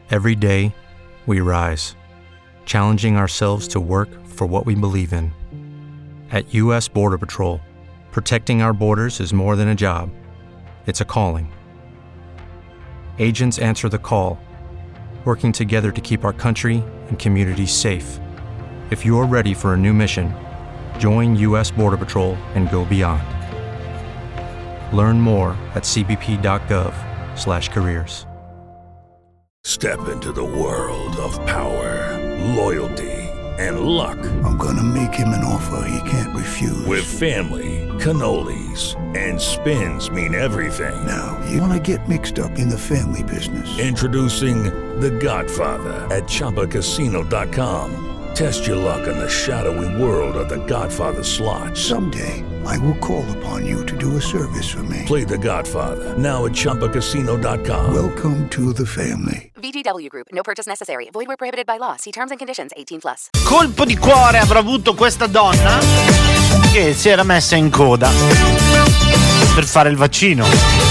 Every day, we rise, challenging ourselves to work for what we believe in. At U.S. Border Patrol, protecting our borders is more than a job. It's a calling. Agents answer the call, working together to keep our country and communities safe. If you're ready for a new mission, join U.S. Border Patrol and go beyond. Learn more at cbp.gov/careers. Step into the world of power, loyalty, and luck. I'm gonna make him an offer he can't refuse. With family, cannolis, and spins mean everything. Now, you wanna get mixed up in the family business. Introducing The Godfather at ChumbaCasino.com. Test your luck in the shadowy world of The Godfather slot. Someday, I will call upon you to do a service for me. Play The Godfather, now at ChumbaCasino.com. Welcome to the family. VGW Group. No purchase necessary. Void where prohibited by law. See terms and conditions. 18+. Colpo di cuore avrà avuto questa donna che si era messa in coda per fare il vaccino.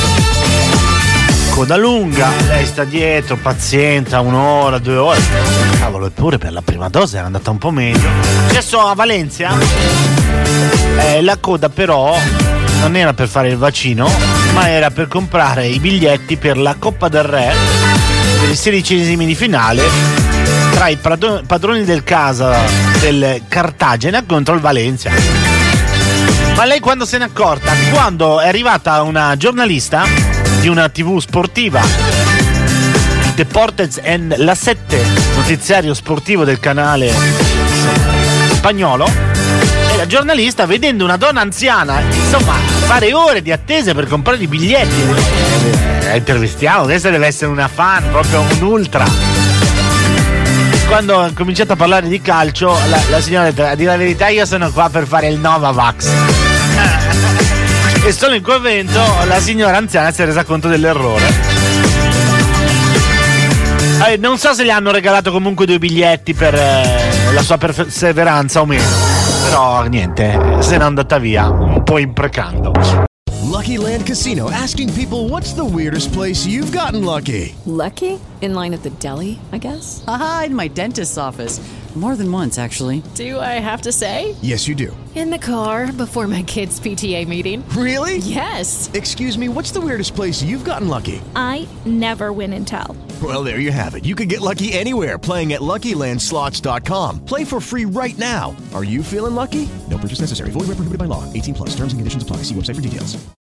Coda lunga, lei sta dietro, pazienta, 1 ora, 2 ore. Cavolo, eppure per la prima dose era andata un po' meglio. Successo a Valencia. La coda però non era per fare il vaccino, ma era per comprare i biglietti per la Coppa del Re, per i 16esimi di finale tra i padroni del casa del Cartagena contro il Valencia. Ma lei quando se n'è accorta? Quando è arrivata una giornalista di una TV sportiva, Deportes en la 7, notiziario sportivo del canale spagnolo, e la giornalista, vedendo una donna anziana, insomma, fare ore di attesa per comprare i biglietti, intervistiamo, questa deve essere una fan, proprio un ultra. Quando ha cominciato a parlare di calcio, la signora ha detto: a dire la verità, io sono qua per fare il Novavax. E solo in quel momento la signora anziana si è resa conto dell'errore. Non so se le hanno regalato comunque 2 biglietti per la sua perseveranza o meno, però niente, se n'è andata via un po' imprecando. Lucky Land Casino, asking people, what's the weirdest place you've gotten lucky? Lucky? In line at the deli, I guess? Aha, in my dentist's office. More than once, actually. Do I have to say? Yes, you do. In the car before my kids' PTA meeting. Really? Yes. Excuse me, what's the weirdest place you've gotten lucky? I never win and tell. Well, there you have it. You can get lucky anywhere, playing at LuckyLandSlots.com. Play for free right now. Are you feeling lucky? No purchase necessary. Void where prohibited by law. 18+. Terms and conditions apply. See website for details.